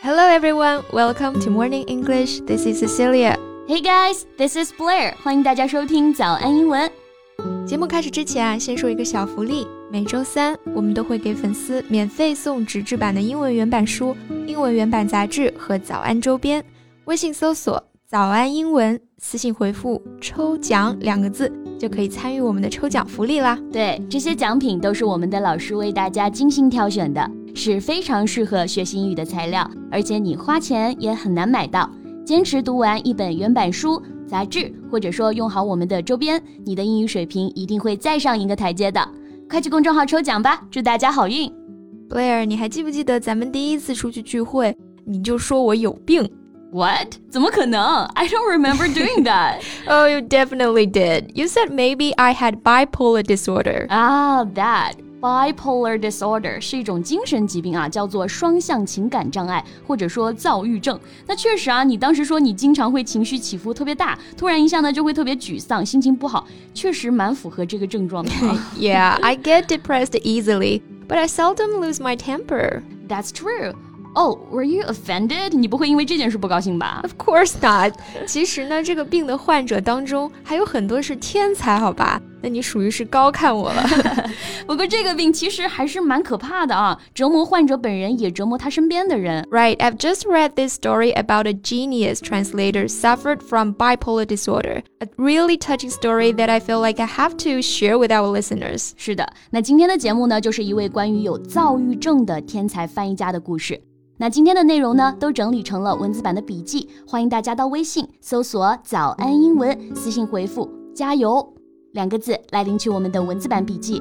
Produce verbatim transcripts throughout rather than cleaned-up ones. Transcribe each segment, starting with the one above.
Hello everyone, welcome to Morning English. This is Cecilia. Hey guys, this is Blair. 欢迎大家收听早安英文。 节目开始之前啊，先说一个小福利。每周三我们都会给粉丝免费送纸质版的英文原版书、英文原版杂志和早安周边。微信搜索早安英文，私信回复抽奖两个字就可以参与我们的抽奖福利啦。 对，这些奖品都是我们的老师为大家精心挑选的，是非常适合学习英语的材料，而且你花钱也很难买到。坚持读完一本原版书、杂志，或者说用好我们的周边，你的英语水平一定会再上一个台阶的。快去公众号抽奖吧，祝大家好运。 Blair， 你还记不记得咱们第一次出去聚会，你就说我有病？ What? 怎么可能？ I don't remember doing that. Oh, you definitely did. You said maybe I had bipolar disorder. Ah, that.Bipolar disorder 是一种精神疾病啊，叫做双向情感障碍，或者说躁郁症。那确实啊，你当时说你经常会情绪起伏特别大，突然一下呢就会特别沮丧，心情不好，确实蛮符合这个症状的。 Yeah, I get depressed easily, but I seldom lose my temper. That's true.Oh, were you offended? 你不会因为这件事不高兴吧？ Of course not. 其实呢，这个病的患者当中还有很多是天才，好吧？那你属于是高看我了。 不过这个病其实还是蛮可怕的啊，折磨患者本人，也折磨他身边的人。 Right, I've just read this story about a genius translator suffered from bipolar disorder. A really touching story that I feel like I have to share with our listeners. 是的，那今天的节目呢，就是一位关于有躁郁症的天才翻译家的故事。那今天的内容呢，都整理成了文字版的笔记，欢迎大家到微信搜索早安英文，私信回复加油两个字来领取我们的文字版笔记。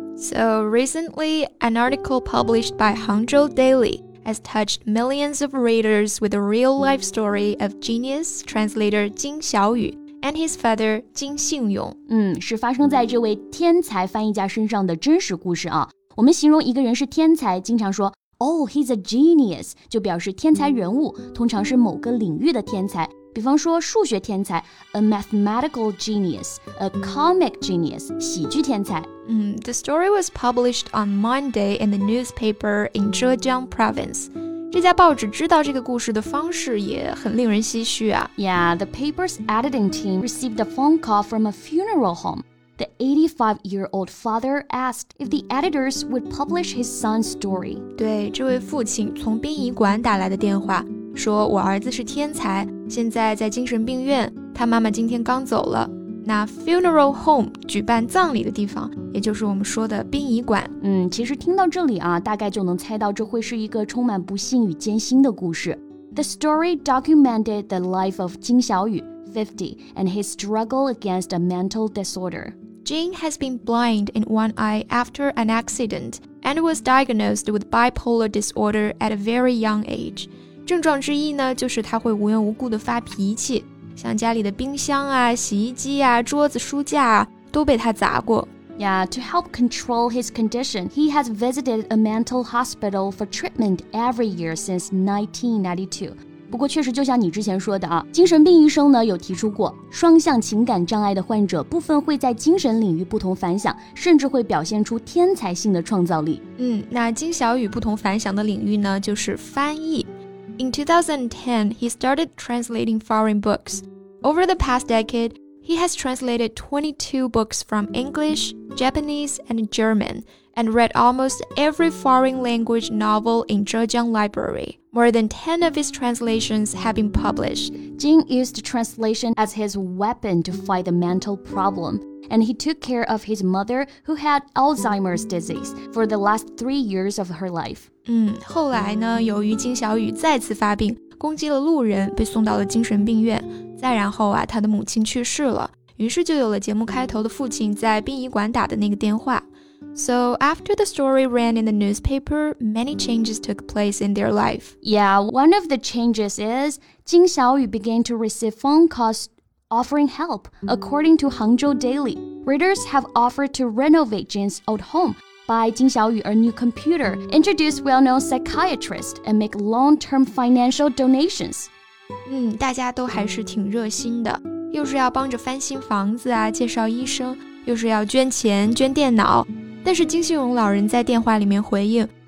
So recently, an article published by Hangzhou Daily has touched millions of readers with a real-life story of genius translator 金小雨 and his father 金信勇。 嗯，是发生在这位天才翻译家身上的真实故事啊。我们形容一个人是天才，经常说Oh, he's a genius, 就表示天才人物，通常是某个领域的天才。比方说数学天才 a mathematical genius, a comic genius, 喜剧天才。 嗯 The story was published on Monday in the newspaper in Zhejiang province. 这家报纸知道这个故事的方式也很令人唏嘘啊。 Yeah, the paper's editing team received a phone call from a funeral home.The eighty-five-year-old father asked if the editors would publish his son's story. 对，这位父亲从殡仪馆打来的电话，说我儿子是天才，现在在精神病院，他妈妈今天刚走了。那 funeral home 举办葬礼的地方，也就是我们说的殡仪馆。 嗯，其实听到这里啊，大概就能猜到这会是一个充满不幸与艰辛的故事。The story documented the life of 金小雨fifty, and his struggle against a mental disorder.Jin has been blind in one eye after an accident and was diagnosed with bipolar disorder at a very young age. 症状之一呢，就是他会无缘无故的发脾气，像家里的冰箱啊、洗衣机啊、桌子、书架啊，都被他砸过。 Yeah, to help control his condition, he has visited a mental hospital for treatment every year since nineteen ninety-two.不过确实就像你之前说的啊，精神病医生呢有提出过，双向情感障碍的患者部分会在精神领域不同凡响，甚至会表现出天才性的创造力。 嗯，那金小雨不同凡响的领域呢，就是翻译。In two thousand ten, he started translating foreign books. Over the past decade, he has translated twenty-two books from English, Japanese, and German, and read almost every foreign language novel in Zhejiang Library.More than ten of his translations have been published. Jin used translation as his weapon to fight the mental problem, and he took care of his mother, who had Alzheimer's disease, for the last three years of her life. 嗯，后来呢，由于金小雨再次发病，攻击了路人，被送到了精神病院。再然后啊，他的母亲去世了，于是就有了节目开头的父亲在殡仪馆打的那个电话。So after the story ran in the newspaper, many changes took place in their life. Yeah, one of the changes is Jin Xiaoyu began to receive phone calls offering help. According to Hangzhou Daily, readers have offered to renovate Jin's old home, buy Jin Xiaoyu a new computer, introduce well-known psychiatrists, and make long-term financial donations. 嗯，大家都还是挺热心的，又是要帮着翻新房子啊，介绍医生，又是要捐钱、捐电脑。但是金信荣老人在电话里面回应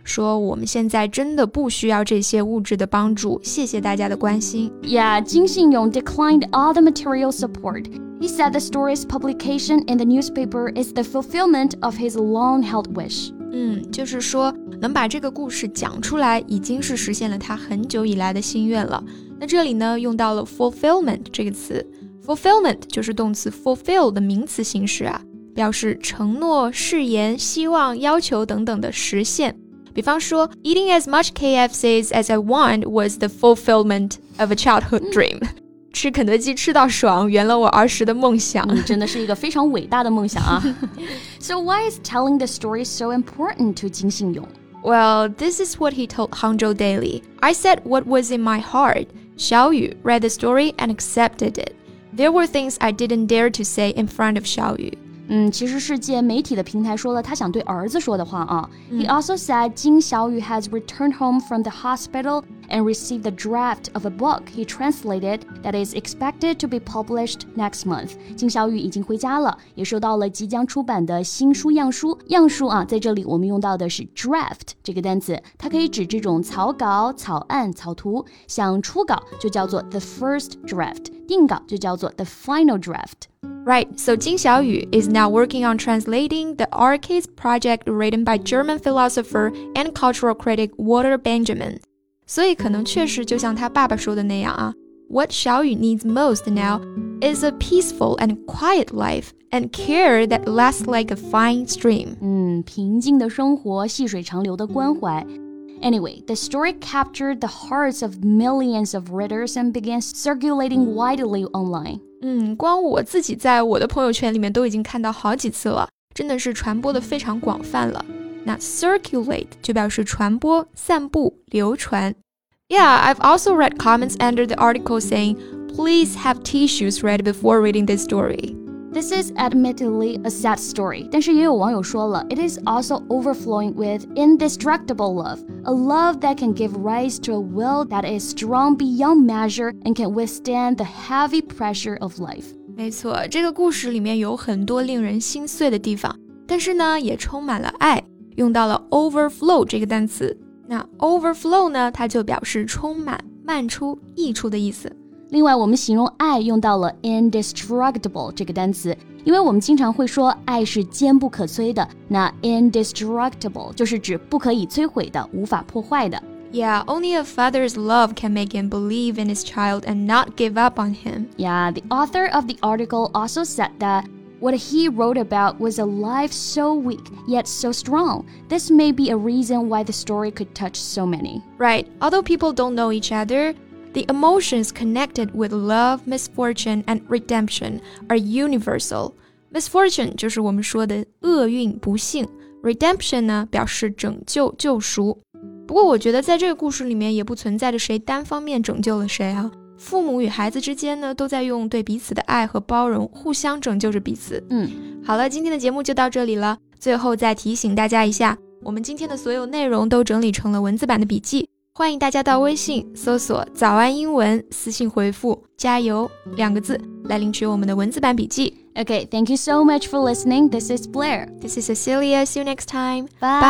说我们现在真的不需要这些物质的帮助，谢谢大家的关心。 Yeah, 金信勇 declined all the material support. He said the story's publication in the newspaper is the fulfillment of his long-held wish. 嗯，就是说能把这个故事讲出来，已经是实现了他很久以来的心愿了。那这里呢，用到了 fulfillment 这个词。fulfillment 就是动词 fulfill 的名词形式啊，表示承诺、誓言、希望、要求等等的实现。比方说 eating as much K F Cs as I want was the fulfillment of a childhood dream. 吃肯德基吃到爽，圆了我儿时的梦想。 嗯，真的是一个非常伟大的梦想啊。So why is telling the story so important to 金信勇? Well, this is what he told Hangzhou Daily. I said what was in my heart. Xiao Yu read the story and accepted it. There were things I didn't dare to say in front of Xiao Yu. 嗯，其实是借媒体的平台说了他想对儿子说的话啊。He also said 金小雨 has returned home from the hospital and received the draft of a book he translated that is expected to be published next month. 金小雨已经回家了，也收到了即将出版的新书样书。样书啊，在这里我们用到的是 draft 这个单词，它可以指这种草稿、草案、草图。像初稿就叫做 the first draft， 定稿就叫做 the final draft。Right, so Jin Xiaoyu is now working on translating the Arcades project written by German philosopher and cultural critic Walter Benjamin. 所以可能确实就像他爸爸说的那样啊 What Xiaoyu needs most now is a peaceful and quiet life and care that lasts like a fine stream. 嗯，平静的生活，细水长流的关怀。Anyway, the story captured the hearts of millions of readers and began circulating widely online. 嗯，光我自己在我的朋友圈里面都已经看到好几次了，真的是传播的非常广泛了。那 circulate 就表示传播、散布、流传。Yeah, I've also read comments under the article saying, please have tissues ready before reading this story.This is admittedly a sad story, 但是也有网友说了 It is also overflowing with indestructible love, a love that can give rise to a will that is strong beyond measure and can withstand the heavy pressure of life. 没错，这个故事里面有很多令人心碎的地方，但是呢，也充满了爱，用到了 overflow 这个单词。那 overflow 呢，它就表示充满、漫出、溢出的意思。 另外我们形容爱用到了 indestructible 这个单词，因为我们经常会说爱是坚不可摧的，那 indestructible 就是指不可以摧毁的，无法破坏的。 Yeah, only a father's love can make him believe in his child and not give up on him. Yeah, the author of the article also said that what he wrote about was a life so weak, yet so strong. This may be a reason why the story could touch so many. Right, although people don't know each other,The emotions connected with love, misfortune, and redemption are universal. Misfortune 就是我们说的厄运、不幸。Redemption 呢，表示拯救、救赎。不过我觉得在这个故事里面也不存在着谁单方面拯救了谁啊。父母与孩子之间呢，都在用对彼此的爱和包容，互相拯救着彼此。 嗯， 好了，今天的节目就到这里了。最后再提醒大家一下，我们今天的所有内容都整理成了文字版的笔记。欢迎大家到微信搜索早安英文，私信回复加油两个字来领取我们的文字版笔记。 Okay, thank you so much for listening. This is Blair. This is Cecilia. See you next time.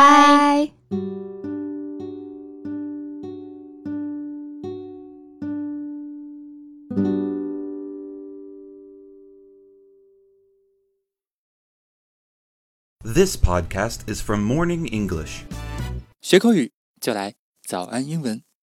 Bye. Bye. This podcast is from Morning English. 学口语就来早安英文。